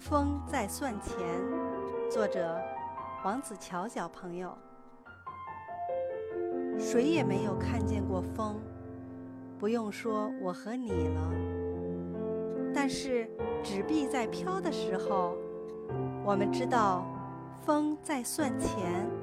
风在算钱，作者王子乔小朋友。谁也没有看见过风，不用说我和你了。但是纸币在飘的时候，我们知道风在算钱。